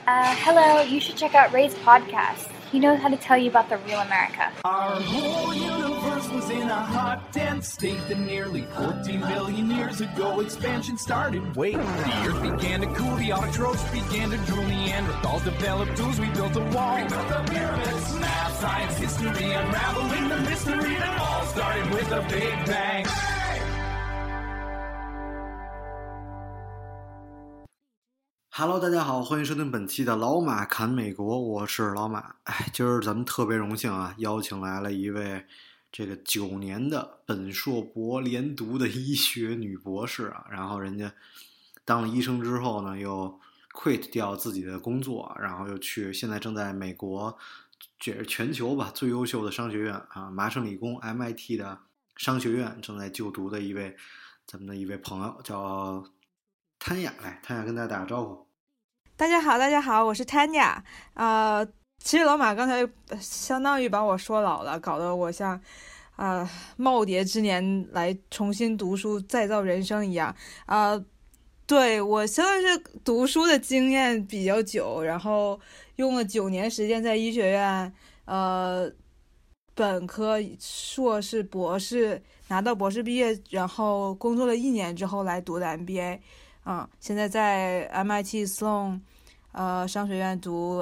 Hello, you should check out Ray's podcast. He knows how to tell you about the real America. Our whole universe was in a hot, dense state that nearly 14 billion years ago expansion started. Wait, the earth began to cool, the autotrophs began to drool, Neanderthals developed tools, we built a wall. We built the pyramids, math, science, history, unraveling the mystery that all started with a big bang. Hello， 大家好，欢迎收听本期的老马侃美国，我是老马。今儿咱们特别荣幸啊，邀请来了一位这个9年的本硕博连读的医学女博士啊，然后人家当了医生之后呢，又 quit 掉自己的工作，然后又现在正在美国，这是全球吧最优秀的商学院啊，麻省理工 MIT 的商学院正在就读的咱们的一位朋友叫谭雅，来，谭雅跟大家打个招呼。 大家好，我是 Tanya。其实老马刚才相当于把我说老了，搞得我像耄耋之年来重新读书再造人生一样。对，我相当于是读书的经验比较久，然后用了9年时间在医学院，本科、硕士、博士拿到博士毕业，然后工作了1年之后来读的 MBA。现在在 MIT Sloan 商学院读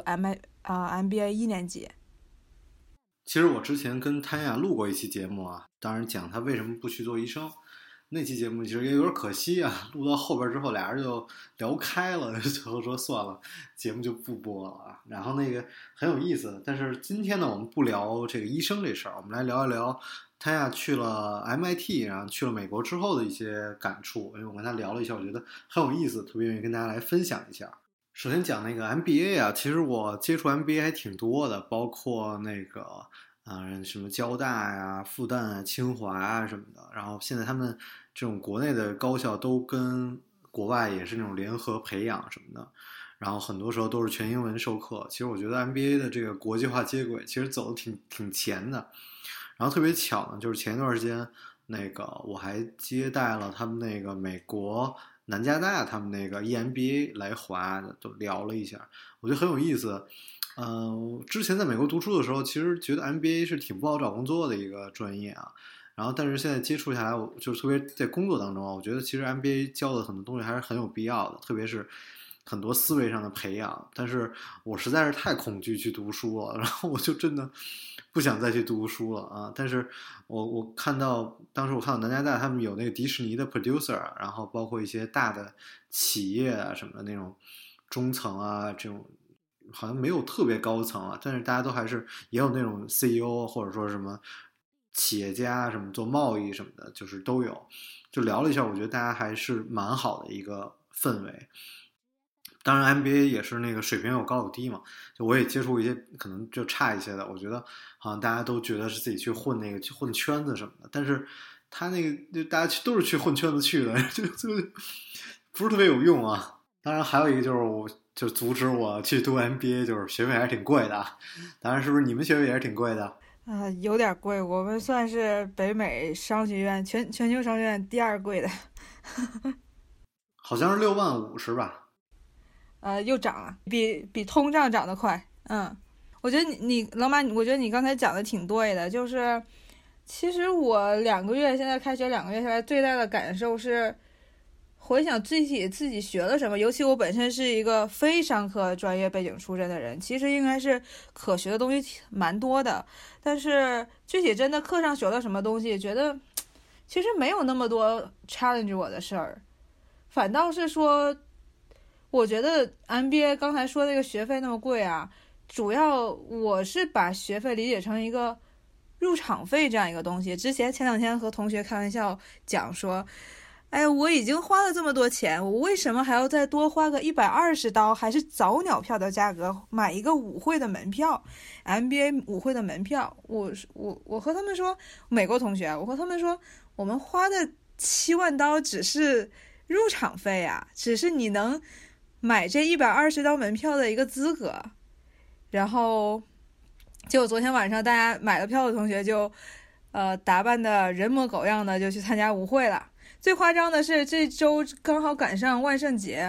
MBA 1年级。 其实我之前跟谭雅录过一期节目啊，当然讲他为什么不去做医生。那期节目其实也有点可惜啊，录到后边之后俩人就聊开了，最后说算了，节目就不播了啊。然后那个很有意思，但是今天呢，我们不聊这个医生这事儿，我们来聊一聊谭雅去了 MIT， 然后去了美国之后的一些感触。因为我跟他聊了一下，我觉得很有意思，特别愿意跟大家来分享一下。首先讲那个 MBA 啊，其实我接触 MBA 还挺多的，包括那个什么交大呀、复旦啊、清华啊什么的。然后现在他们这种国内的高校都跟国外也是那种联合培养什么的，然后很多时候都是全英文授课。其实我觉得 MBA 的这个国际化接轨其实走得挺前的。然后特别巧呢，就是前一段时间那个我还接待了他们那个美国南加大他们那个 EMBA 来华的，都聊了一下，我觉得很有意思。之前在美国读书的时候，其实觉得 MBA 是挺不好找工作的一个专业啊。然后但是现在接触下来，就是特别在工作当中啊，我觉得其实 MBA 教的很多东西还是很有必要的，特别是很多思维上的培养。但是我实在是太恐惧去读书了，然后我就真的不想再去读书了啊！但是我当时我看到南加大他们有那个迪士尼的 producer， 然后包括一些大的企业啊什么的那种中层啊，这种好像没有特别高层啊，但是大家都还是也有那种 CEO 或者说什么企业家什么做贸易什么的，就是都有。就聊了一下，我觉得大家还是蛮好的一个氛围。当然 MBA 也是那个水平有高有低嘛，就我也接触一些可能就差一些的，我觉得好像大家都觉得是自己去混圈子什么的，但是他那个就大家都是去混圈子去的，就不是特别有用啊。当然还有一个就是阻止我去读 MBA， 就是学费还是挺贵的。当然是不是你们学费也是挺贵的？ 有点贵，我们算是北美商学院全球商学院第2贵的。 好像是65000是吧？ 又涨了，比通胀涨得快。我觉得你老马，我觉得你刚才讲的挺对的，就是其实我现在开学2个月下来，最大的感受是回想具体自己学了什么。尤其我本身是一个非商科专业背景出身的人，其实应该是可学的东西蛮多的，但是具体真的课上学了什么东西，觉得其实没有那么多 challenge 我的事儿，反倒是说我觉得 MBA 刚才说那个学费那么贵啊，主要我是把学费理解成一个入场费这样一个东西。前2天和同学开玩笑讲说，我已经花了这么多钱，我为什么还要再多花个120刀，还是早鸟票的价格买一个舞会的门票， MBA 舞会的门票。我和他们说，美国同学，我和他们说，我们花的7万刀只是入场费啊，只是你能买这120刀门票的一个资格。然后结果昨天晚上大家买了票的同学就打扮的人模狗样的就去参加舞会了。最夸张的是这周刚好赶上万圣节，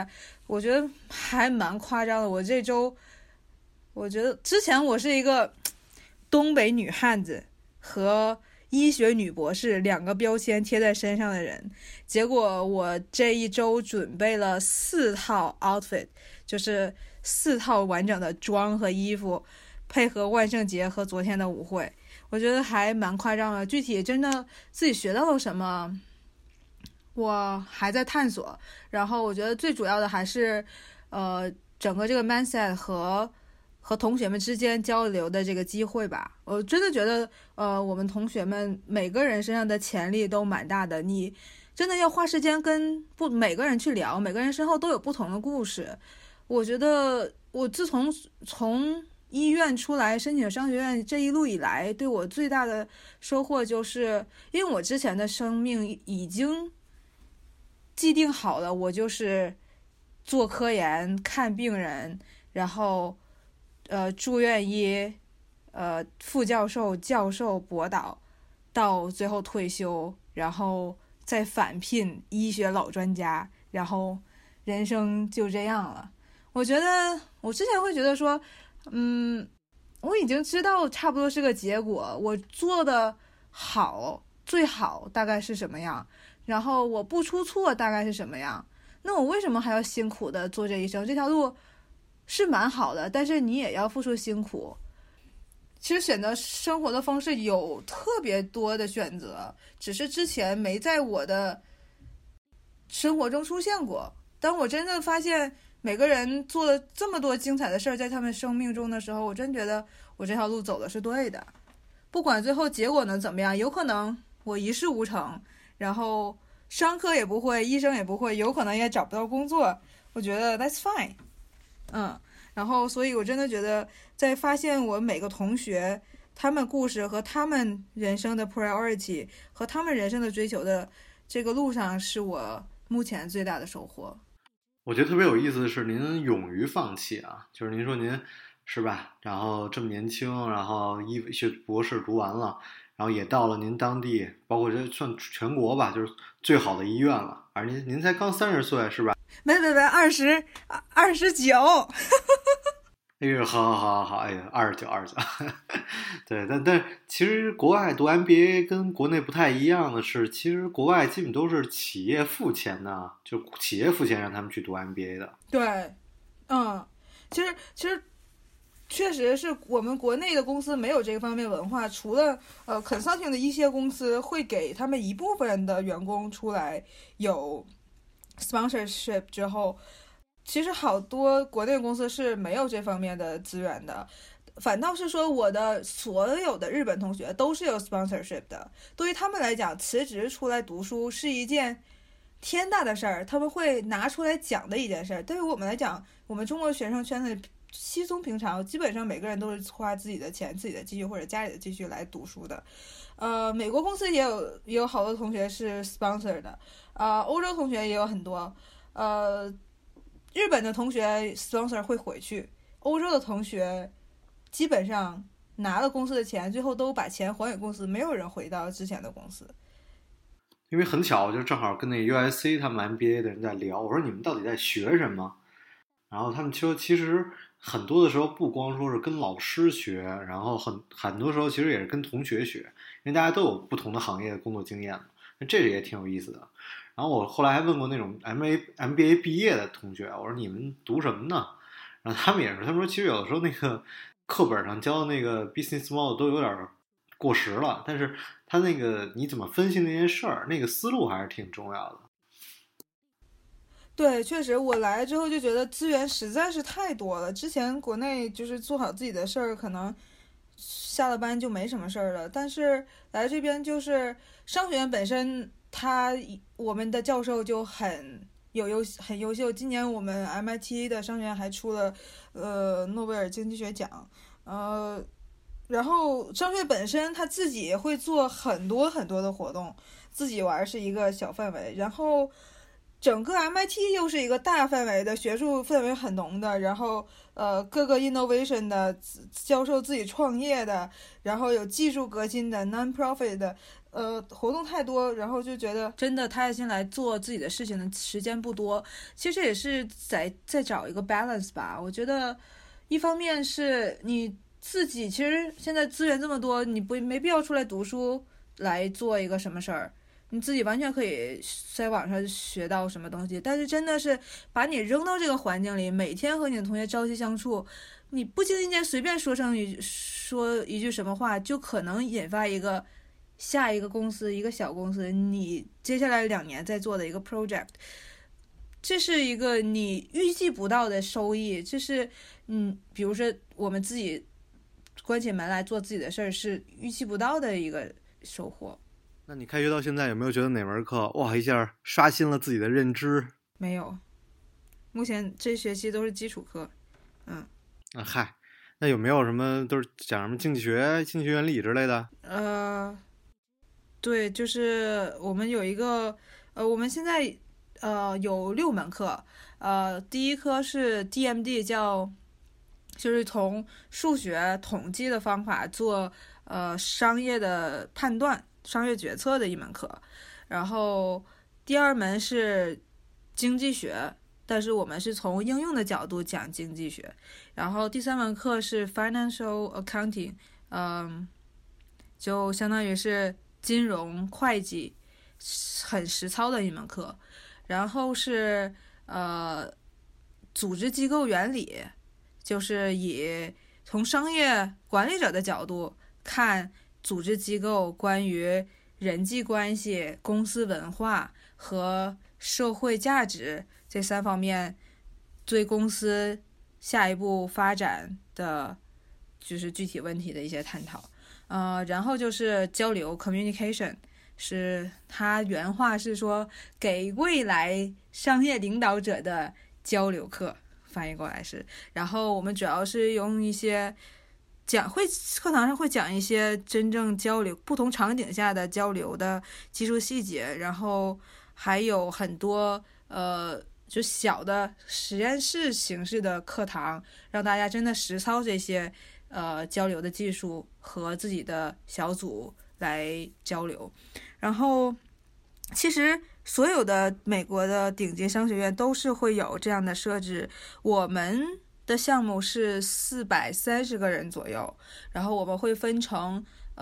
我觉得还蛮夸张的。我这周，我觉得之前我是一个东北女汉子和医学女博士两个标签贴在身上的人，结果我这一周准备了4套 outfit， 就是4套完整的妆和衣服，配合万圣节和昨天的舞会，我觉得还蛮夸张的。具体真的自己学到了什么，我还在探索。然后我觉得最主要的还是，整个这个 mindset 和同学们之间交流的这个机会吧。我真的觉得，我们同学们每个人身上的潜力都蛮大的。你真的要花时间跟每个人去聊，每个人身后都有不同的故事。我觉得我自从医院出来申请商学院这一路以来，对我最大的收获就是，因为我之前的生命已经既定好了，我就是做科研、看病人，然后住院医，副教授、教授、博导，到最后退休，然后再返聘医学老专家，然后人生就这样了。我觉得我之前会觉得说，我已经知道差不多是个结果，我做的好最好大概是什么样，然后我不出错大概是什么样，那我为什么还要辛苦的做这一生？这条路是蛮好的，但是你也要付出辛苦。其实选择生活的方式有特别多的选择，只是之前没在我的生活中出现过。当我真的发现每个人做了这么多精彩的事儿在他们生命中的时候，我真觉得我这条路走的是对的。不管最后结果能怎么样，有可能我一事无成，然后商科也不会，医生也不会，有可能也找不到工作，我觉得 that's fine。然后所以我真的觉得在发现我每个同学他们故事和他们人生的 priority 和他们人生的追求的这个路上，是我目前最大的收获。 我觉得特别有意思的是您勇于放弃啊，就是您说您是吧，然后这么年轻，然后医学博士读完了，然后也到了您当地，包括这算全国吧，就是最好的医院了，而您才刚30岁是吧？ 没29。 哎呦，好，哎呀，29，对，但其实国外读 MBA 跟国内不太一样的是，其实国外基本都是企业付钱的，就企业付钱让他们去读 MBA 的。 对，其实确实是我们国内的公司没有这个方面文化，除了consulting 的一些公司会给他们一部分的员工出来有 sponsorship 之后，其实好多国内公司是没有这方面的资源的，反倒是说我的所有的日本同学都是有 sponsorship 的，对于他们来讲辞职出来读书是一件天大的事儿，他们会拿出来讲的一件事儿。对于我们来讲，我们中国学生圈子稀松平常，基本上每个人都是花自己的钱、自己的积蓄或者家里的积蓄来读书的。美国公司也有好多同学是 sponsor 的，欧洲同学也有很多，日本的同学 sponsor 会回去，欧洲的同学基本上拿了公司的钱，最后都把钱还给公司，没有人回到之前的公司。 因为很巧，就正好跟那 USC 他们 MBA 的人在聊，我说你们到底在学什么？然后他们说，其实很多的时候不光说是跟老师学，然后很多时候其实也是跟同学学，因为大家都有不同的行业的工作经验嘛，这也挺有意思的。然后我后来还问过那种 MBA 毕业的同学，我说你们读什么呢？然后他们也是，他们说其实有的时候那个课本上教的那个 business model 都有点过时了，但是他那个你怎么分析那件事儿，那个思路还是挺重要的。 对，确实，我来之后就觉得资源实在是太多了。之前国内就是做好自己的事儿，可能下了班就没什么事儿了。但是来这边就是商学院本身，我们的教授就很优秀。今年我们 MIT 的商学院还出了诺贝尔经济学奖，然后商学院本身他自己也会做很多很多的活动，自己玩是一个小范围，然后整个 MIT 又是一个大范围的学术氛围很浓的，然后各个 innovation 的教授自己创业的，然后有技术革新的 non-profit 的， 活动太多，然后就觉得真的踏下心来做自己的事情的时间不多。其实也是在找一个 balance 吧。我觉得一方面是你自己，其实现在资源这么多，你没必要出来读书来做一个什么事儿，你自己完全可以在网上学到什么东西。但是真的是把你扔到这个环境里，每天和你的同学朝夕相处，你不经意间随便说一句什么话，就可能引发下一个公司，一个小公司，你接下来2年在做的一个 project， 这是一个你预计不到的收益。这是比如说我们自己关起门来做自己的事儿，是预期不到的一个收获。 那你开学到现在有没有觉得哪门课哇一下刷新了自己的认知？ 没有，目前这学期都是基础课。 嗨，那有没有什么都是讲什么经济学原理之类的？ 对，就是我们有一个我们现在有6门课。第一科是 DMD， 就是从数学统计的方法做商业的判断、商业决策的一门课。然后第2门是经济学，但是我们是从应用的角度讲经济学。然后第3门课是 Financial Accounting， 就相当于是金融会计，很实操的一门课。然后是组织机构原理，就是从商业管理者的角度看组织机构关于人际关系、公司文化和社会价值这3方面对公司下一步发展的就是具体问题的一些探讨。然后就是交流 communication， 是他原话是说给未来商业领导者的交流课，翻译过来是。然后我们主要是用一些课堂上会讲一些真正交流不同场景下的交流的技术细节，然后还有很多就小的实验室形式的课堂，让大家真的实操这些交流的技术和自己的小组来交流。然后其实所有的美国的顶级商学院都是会有这样的设置。我们的项目是430个人左右，然后我们会分成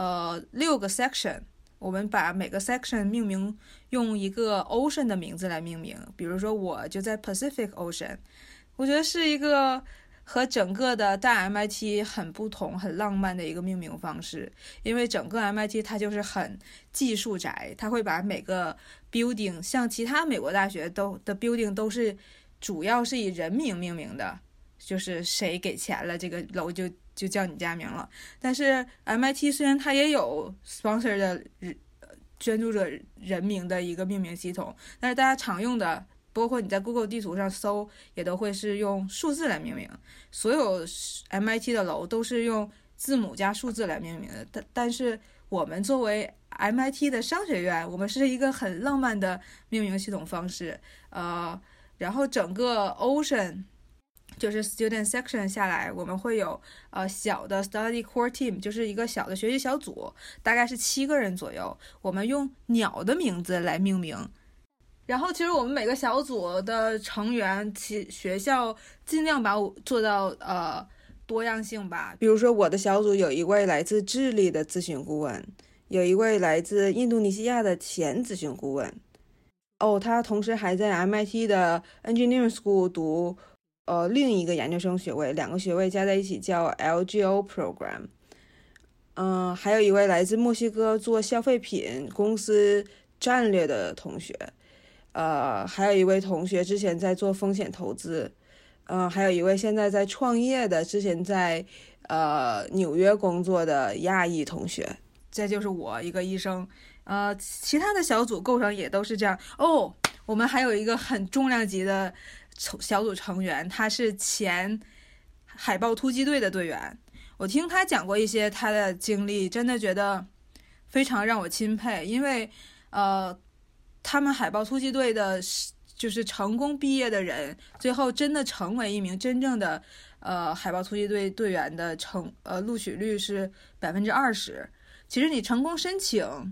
6个 section， 我们把每个 section 命名，用一个 ocean 的名字来命名。比如说我就在 Pacific Ocean， 我觉得是一个和整个的大 MIT 很不同、很浪漫的一个命名方式。因为整个 MIT 它就是很技术宅，它会把每个 building， 像其他美国大学的 building 都是主要是以人名命名的，就是谁给钱了，这个楼就叫你家名了。但是 MIT 虽然它也有 sponsor 的捐助者人名的一个命名系统，但是大家常用的，包括你在 Google 地图上搜，也都会是用数字来命名。所有 MIT 的楼都是用字母加数字来命名的。但是我们作为 MIT 的商学院，我们是一个很浪漫的命名系统方式。然后整个 Ocean 就是 Student Section 下来，我们会有小的 Study Core Team， 就是一个小的学习小组，大概是7个人左右。我们用鸟的名字来命名。然后其实我们每个小组的成员，学校尽量把我做到多样性吧。比如说我的小组有一位来自智利的咨询顾问，有一位来自印度尼西亚的前咨询顾问。他同时还在 MIT 的 Engineering School 读另一个研究生学位，2个学位加在一起叫 LGO Program。还有一位来自墨西哥做消费品公司战略的同学。还有一位同学之前在做风险投资。还有一位现在在创业的，之前在纽约工作的亚裔同学。这就是我一个医生。其他的小组构成也都是这样。我们还有一个很重量级的小组成员，他是前海豹突击队的队员。我听他讲过一些他的经历，真的觉得非常让我钦佩。因为他们海豹突击队的就是成功毕业的人，最后真的成为一名真正的海豹突击队队员的录取率是20%。其实你成功申请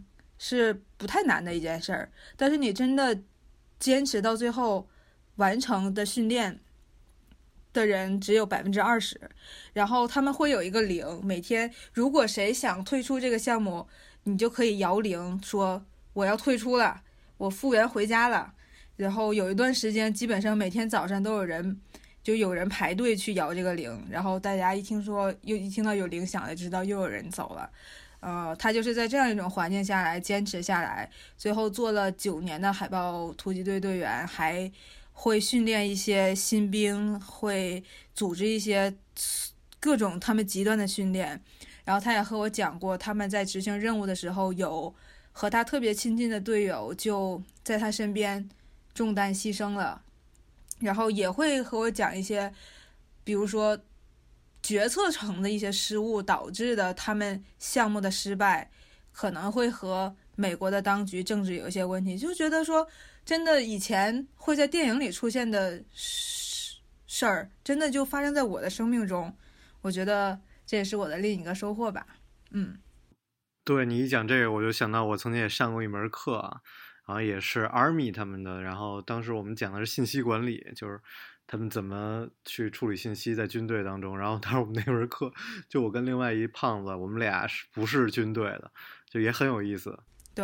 是不太难的一件事儿，但是你真的坚持到最后完成的训练的人只有20%，然后他们会有一个铃，每天如果谁想退出这个项目，你就可以摇铃说我要退出了，我复员回家了。然后有一段时间基本上每天早上都有人排队去摇这个铃，然后大家一听到有铃响了，知道又有人走了。他就是在这样一种环境下来坚持下来，最后做了9年的海豹突击队队员，还会训练一些新兵，会组织一些各种他们极端的训练。然后他也和我讲过，他们在执行任务的时候，有和他特别亲近的队友就在他身边中弹牺牲了。然后也会和我讲一些，比如说决策层的一些失误导致的他们项目的失败，可能会和美国的当局政治有一些问题，就觉得说真的以前会在电影里出现的事儿，真的就发生在我的生命中。我觉得这也是我的另一个收获吧。 对，你一讲这个，我就想到我曾经也上过一门课啊，然后也是 Army 他们的，然后当时我们讲的是信息管理，就是他们怎么去处理信息在军队当中。然后当时我们那门课，就我跟另外一胖子，我们俩不是军队的，就也很有意思。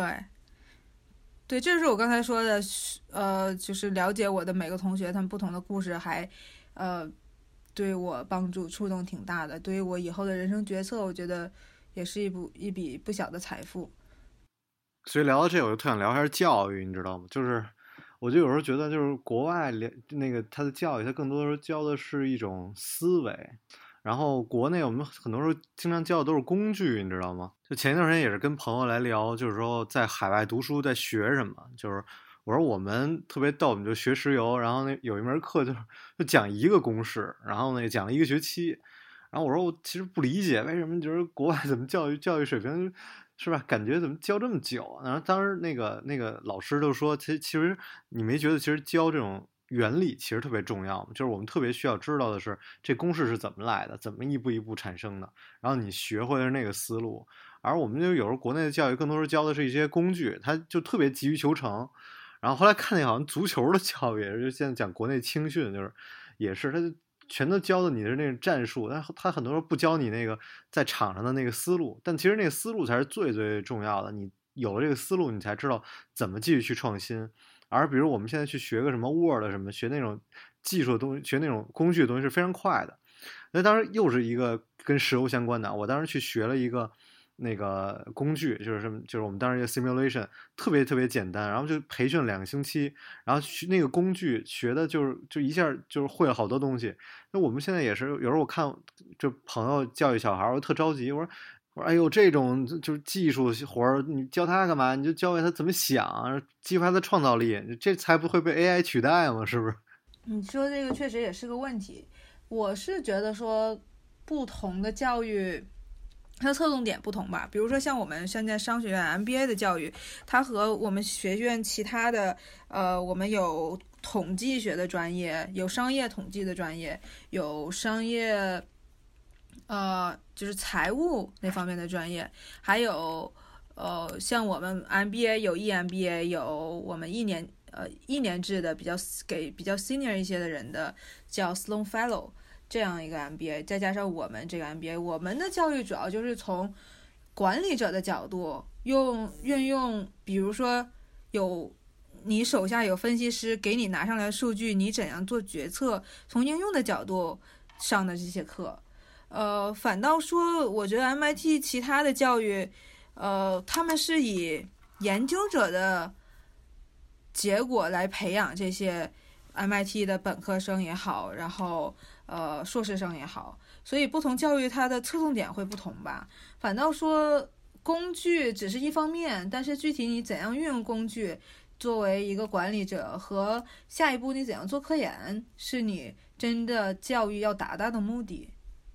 对，这是我刚才说的，就是了解我的每个同学他们不同的故事，还对我帮助触动挺大的，对于我以后的人生决策，我觉得也是一笔不小的财富。 所以聊到这，我就特想聊一下教育，你知道吗？就是我就有时候觉得，就是国外那个他的教育，他更多的时候教的是一种思维，然后国内我们很多时候经常教的都是工具，你知道吗？就前一段时间也是跟朋友来聊，就是说在海外读书在学什么，就是我说我们特别逗，我们就学石油，然后那有一门课就讲一个公式，然后呢讲了1个学期，然后我说我其实不理解为什么就是国外怎么教育水平是吧？感觉怎么教这么久啊？然后当时那个老师就说，其实你没觉得其实教这种原理其实特别重要吗？就是我们特别需要知道的是这公式是怎么来的，怎么一步一步产生的，然后你学会的是那个思路。而我们就有时候国内的教育更多是教的是一些工具，它就特别急于求成。然后后来看见好像足球的教育，就现在讲国内青训，就是也是他就全都教的你的那个战术，但他很多时候不教你那个在场上的那个思路，但其实那个思路才是最最重要的。你有了这个思路，你才知道怎么继续去创新。而比如我们现在去学个什么 Word 什么，学那种技术的东西，学那种工具的东西是非常快的。那当然又是一个跟石油相关的，我当时去学了一个那个工具，就是什么，就是我们当时一个 simulation， 特别特别简单，然后就培训2个星期，然后那个工具学的就一下就是会了好多东西。那我们现在也是，有时候我看就朋友教育小孩，我特着急，我说哎呦，这种就是技术活儿，你教他干嘛？你就教会他怎么想，激发他的创造力，这才不会被 AI 取代嘛，是不是？ 你说这个确实也是个问题。我是觉得说，不同的教育它的侧重点不同吧。比如说像我们现在商学院 MBA 的教育，它和我们学院其他的我们有统计学的专业，有商业统计的专业，有商业就是财务那方面的专业，还有像我们 MBA 有 EMBA， 有我们一年制的比较 senior 一些的人的叫 Sloan Fellow 这样一个 MBA， 再加上我们这个 MBA， 我们的教育主要就是从管理者的角度运用，比如说你手下有分析师给你拿上来数据，你怎样做决策，从应用的角度上的这些课。反倒说我觉得 MIT 其他的教育他们是以研究者的结果来培养这些 MIT 的本科生也好，然后硕士生也好，所以不同教育它的侧重点会不同吧。反倒说工具只是一方面，但是具体你怎样运用工具作为一个管理者，和下一步你怎样做科研，是你真的教育要达到的目的。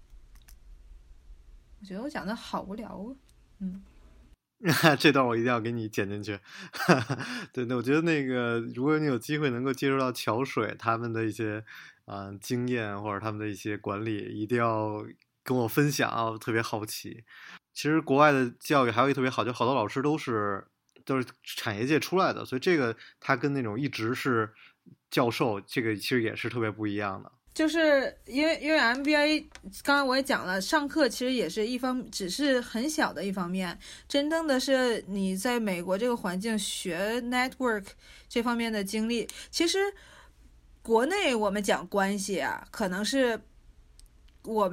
我觉得我讲的好无聊这段我一定要给你剪进去。对，我觉得那个如果你有机会能够接触到桥水他们的一些经验，或者他们的一些管理，一定要跟我分享啊，我特别好奇。其实国外的教育还有一个特别好，就好多老师都是都是产业界出来的，所以这个他跟那种一直是教授，这个其实也是特别不一样的。 就是因为 MBA 刚刚我也讲了，上课其实也是只是很小的一方面，真正的是你在美国这个环境学 network 这方面的经历。其实国内我们讲关系啊，可能是我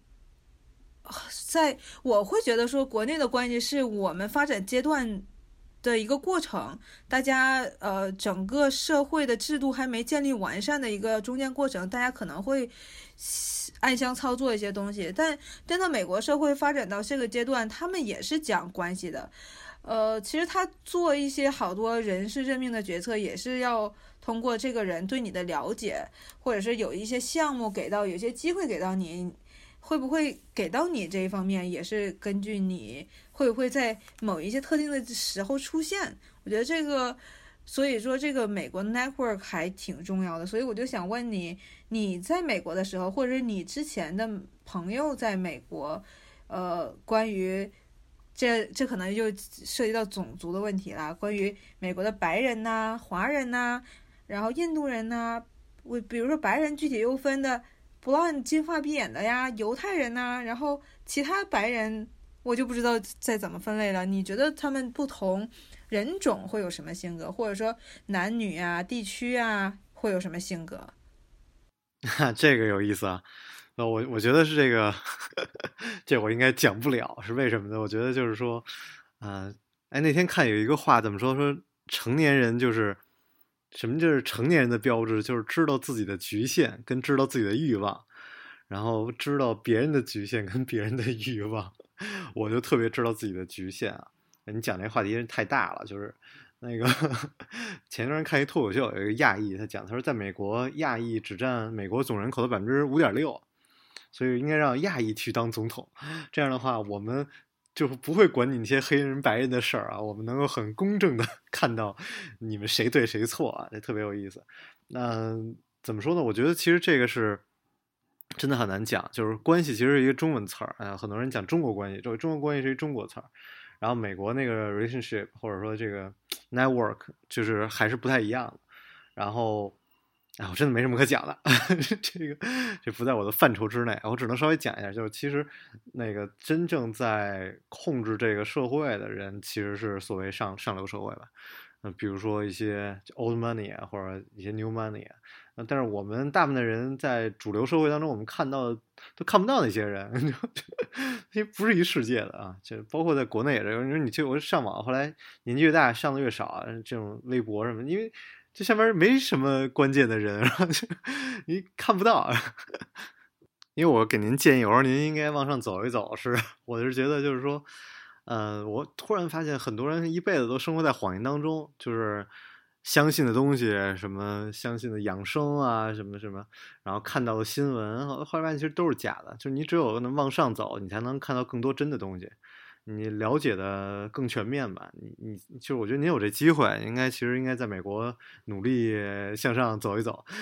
会觉得说国内的关系是我们发展阶段的一个过程，大家整个社会的制度还没建立完善的一个中间过程，大家可能会暗箱操作一些东西，但真的美国社会发展到这个阶段，他们也是讲关系的。其实他做一些好多人事任命的决策，也是要通过这个人对你的了解，或者是有一些项目有些机会给到你，会不会给到你这一方面，也是根据你会不会在某一些特定的时候出现。我觉得这个，所以说这个美国 network 还挺重要的。所以我就想问你，你在美国的时候，或者你之前的朋友在美国，关于这可能就涉及到种族的问题啦。关于美国的白人呐、华人呐，然后印度人呐，比如说白人具体又分的blonde金发碧眼的呀，犹太人呐，然后其他白人我就不知道再怎么分类了。你觉得他们不同人种会有什么性格，或者说男女啊、地区啊会有什么性格？ 这个有意思啊。我觉得是这个这我应该讲不了，是为什么呢？我觉得就是说那天看有一个话怎么说成年人就是什么，就是成年人的标志就是知道自己的局限跟知道自己的欲望，然后知道别人的局限跟别人的欲望。我就特别知道自己的局限啊。你讲这话题真太大了，就是那个前段时间看一脱口秀，有一个亚裔，他说在美国亚裔只占美国总人口的 5.6%， 所以应该让亚裔去当总统。这样的话我们就不会管你那些黑人白人的事儿啊，我们能够很公正的看到你们谁对谁错啊，这特别有意思。那怎么说呢？我觉得其实这个是真的很难讲，就是关系其实是一个中文词儿，很多人讲中国关系，这个中国关系是一中国词儿，然后美国那个 relationship 或者说这个 network 就是还是不太一样的。然后我真的没什么可讲的这不在我的范畴之内，我只能稍微讲一下，就是其实那个真正在控制这个社会的人其实是所谓上流社会吧。比如说一些 old money 啊，或者一些 new money 啊，但是我们大部分的人在主流社会当中，我们看到都看不到那些人，因为不是一世界的啊。就包括在国内也是，你我上网，后来年纪越大上的越少啊，这种微博什么，因为这上面没什么关键的人，然后你看不到。因为我给您建议，我说您应该往上走一走，我是觉得就是说我突然发现很多人一辈子都生活在谎言当中，就是相信的东西，什么相信的养生啊，什么什么，然后看到的新闻，后来发现其实都是假的。就是你只有能往上走，你才能看到更多真的东西，你了解的更全面吧。你就是我觉得您有这机会，其实应该在美国努力向上走一走。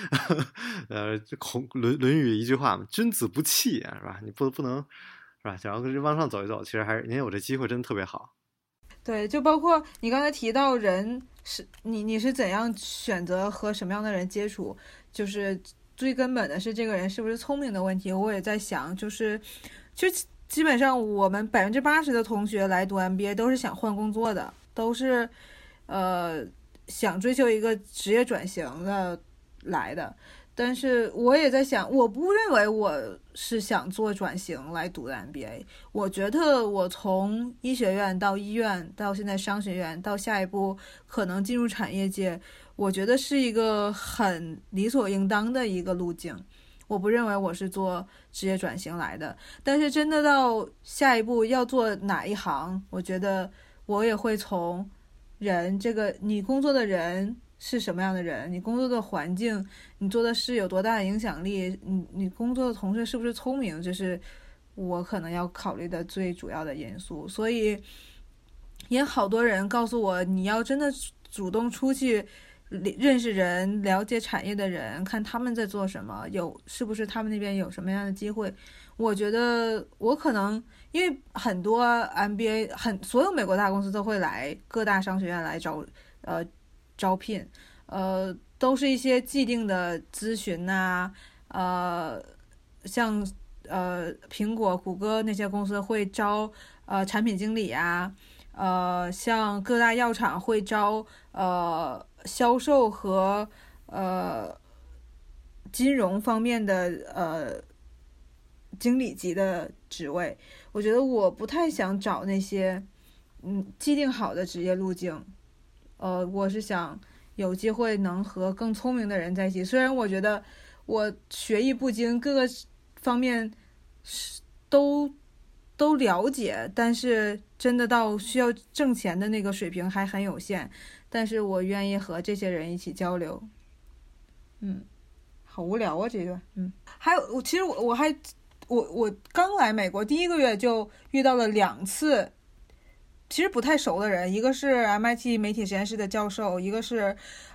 论语一句话嘛，君子不器啊，是吧？你不能是吧？想要往上走一走，其实还是您有这机会，真的特别好。 对，就包括你刚才提到人是你是怎样选择和什么样的人接触，就是最根本的是这个人是不是聪明的问题。我也在想，就基本上我们80%的同学来读 MBA 都是想换工作的，都是想追求一个职业转型的来的。但是我也在想，我不认为我是想做转型来读的 MBA。我觉得我从医学院到医院，到现在商学院，到下一步可能进入产业界，我觉得是一个很理所应当的一个路径。我不认为我是做职业转型来的。但是真的到下一步要做哪一行，我觉得我也会从人，这个你工作的人是什么样的人，你工作的环境，你做的事有多大的影响力，你工作的同事是不是聪明，这是我可能要考虑的最主要的因素。所以也好多人告诉我，你要真的主动出去认识人、了解产业的人，看他们在做什么，是不是他们那边有什么样的机会。我觉得我可能因为很多 MBA 所有美国大公司都会来各大商学院来招聘，都是一些既定的咨询啊，像苹果、谷歌那些公司会招产品经理啊，像各大药厂会招销售和金融方面的经理级的职位。我觉得我不太想找那些既定好的职业路径，我是想有机会能和更聪明的人在一起。虽然我觉得我学艺不精，各个方面都了解，但是真的到需要挣钱的那个水平还很有限。但是我愿意和这些人一起交流。好无聊啊这个。还有其实我刚来美国第1个月就遇到了2次其实不太熟的人，一个是 MIT 媒体实验室的教授，一个是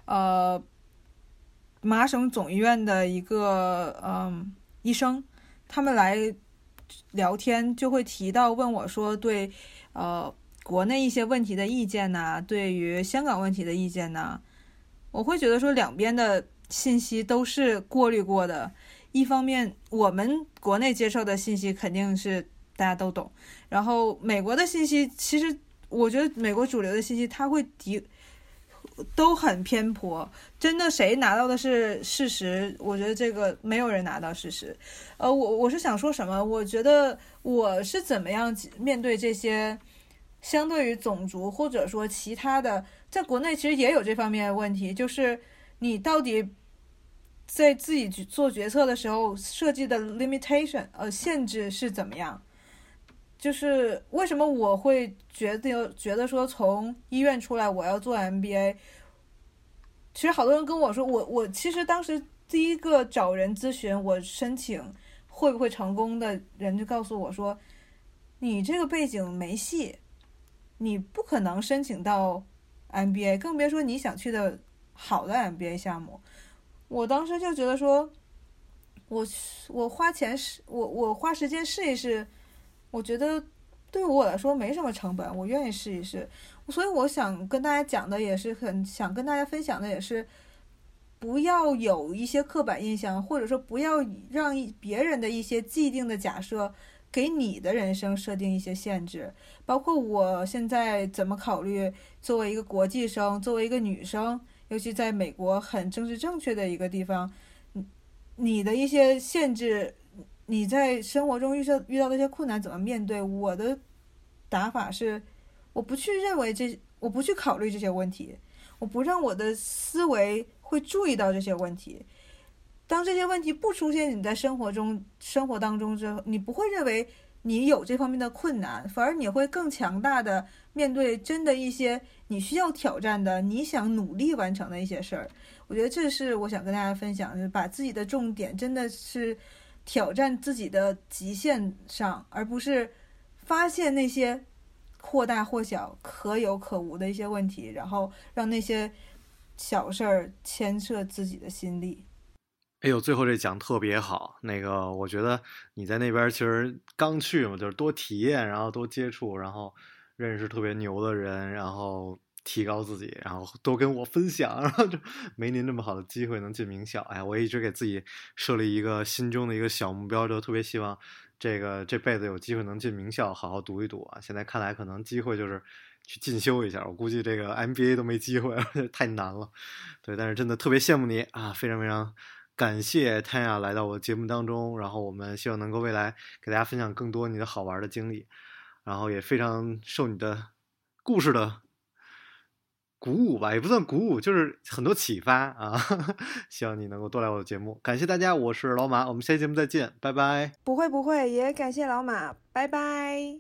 麻省总医院的一个医生。他们来聊天就会提到问我说对国内一些问题的意见呐，对于香港问题的意见呐。我会觉得说两边的信息都是过滤过的。一方面我们国内接受的信息肯定是大家都懂，然后美国的信息其实我觉得美国主流的信息它会都很偏颇，真的谁拿到的是事实？我觉得这个没有人拿到事实。我是想说什么？我觉得我是怎么样面对这些相对于种族或者说其他的，在国内其实也有这方面的问题，就是你到底在自己做决策的时候设计的 limitation 限制是怎么样？就是为什么我会觉得说从医院出来我要做 MBA。 其实好多人跟我说，我其实当时第一个找人咨询我申请会不会成功的人就告诉我说，你这个背景没戏，你不可能申请到 MBA， 更别说你想去的好的 MBA 项目。我当时就觉得说我花钱我花时间试一试，我觉得对我来说没什么成本，我愿意试一试。所以我想跟大家讲的也是想跟大家分享的也是，不要有一些刻板印象，或者说不要让别人的一些既定的假设给你的人生设定一些限制。包括我现在怎么考虑作为一个国际生，作为一个女生，尤其在美国很政治正确的一个地方，你的一些限制，你在生活中遇到的一些困难怎么面对。我的打法是我不去考虑这些问题，我不让我的思维会注意到这些问题。当这些问题不出现你在生活当中之后，你不会认为你有这方面的困难，反而你会更强大的面对真的一些你需要挑战的，你想努力完成的一些事儿。我觉得这是我想跟大家分享，就是把自己的重点真的是挑战自己的极限上，而不是发现那些或大或小可有可无的一些问题，然后让那些小事儿牵涉自己的心力。 哎呦，最后这讲特别好。我觉得你在那边其实刚去嘛，就是多体验，然后多接触，然后认识特别牛的人，然后提高自己，然后多跟我分享，然后就没您这么好的机会能进名校。哎，我一直给自己设立一个心中的一个小目标，就特别希望这辈子有机会能进名校，好好读一读啊。现在看来可能机会就是去进修一下，我估计这个 MBA 都没机会，太难了。对，但是真的特别羡慕你啊，非常非常感谢泰雅来到我的节目当中，然后我们希望能够未来给大家分享更多你的好玩的经历，然后也非常受你的故事的鼓舞吧，也不算鼓舞，就是很多启发啊。希望你能够多来我的节目，感谢大家，我是老马，我们下期节目再见，拜拜。 不会，也感谢老马，拜拜。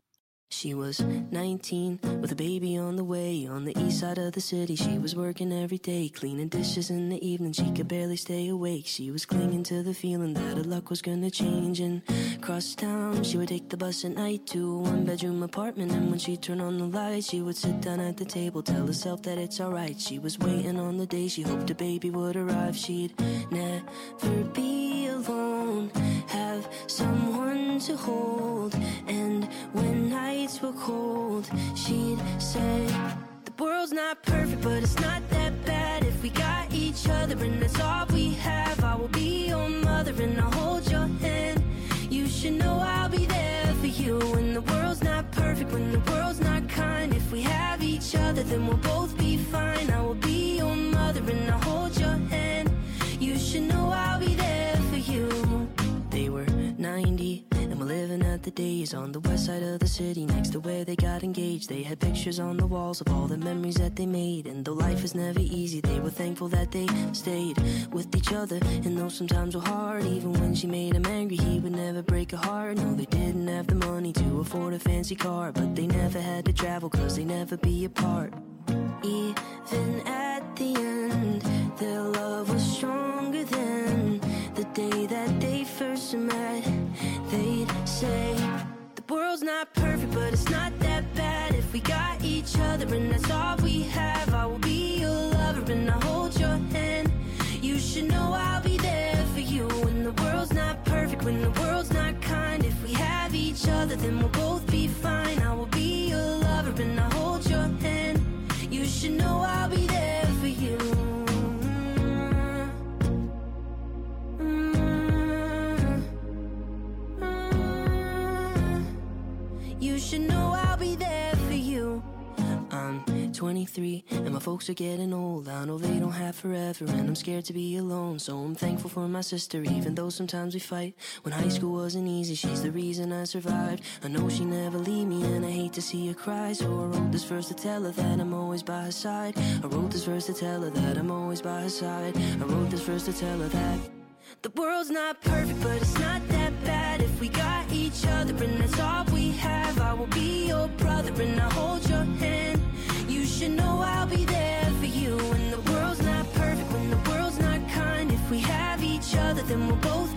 She was 19 with a baby on the way. On the east side of the city, she was working every day, cleaning dishes in the evening, she could barely stay awake. She was clinging to the feeling that her luck was gonna change. And across town, she would take the bus at night to a one-bedroom apartment. And when she'd turn on the lights, she would sit down at the table, tell herself that it's alright. She was waiting on the day she hoped a baby would arrive. She'd never be alone, have someone to hold. And when nights were cold, she'd say, the world's not perfect, but it's not that bad if we got each other, and that's all we have. I will be your mother and I'll hold your hand. You should know I'll be there for you when the world's not perfect, when the world's not kind. If we have each other, then we'll both be fine. I will be your mother and I'll hold your hand. You should know I'll be there for you. They were 90 and were living at the days on the west side of the city, next to where they got engaged. They had pictures on the walls of all the memories that they made. And though life is never easy, they were thankful that they stayed with each other. And though sometimes were hard, even when she made him angry, he would never break her heart. No, they didn't have the money to afford a fancy car, but they never had to travel, cause they never be apart. Even at the end, their love was stronger than the day that they first met. They'd say, the world's not perfect, but it's not that bad if we got each other, and that's all we have. I will be your lover and I'll hold your hand. You should know I'll be there for you when the world's not perfect, when the world's not kind. If we have each other, then we'll both be fine. I will be your lover and I'll hold your hand. You should know I'll be there for you. You should know I'll be there for you. I'm 23 and my folks are getting old. I know they don't have forever and I'm scared to be alone. So I'm thankful for my sister, even though sometimes we fight. When high school wasn't easy, she's the reason I survived. I know she never leave me and I hate to see her cry. So I wrote this verse to tell her that I'm always by her side. I wrote this verse to tell her that I'm always by her side. I wrote this verse to tell her that the world's not perfect, but it's not that bad if we got each other, and that's all we have. I will be your brother and I'll hold your hand. You should know I'll be there for you when the world's not perfect, when the world's not kind. If we have each other, then we'll both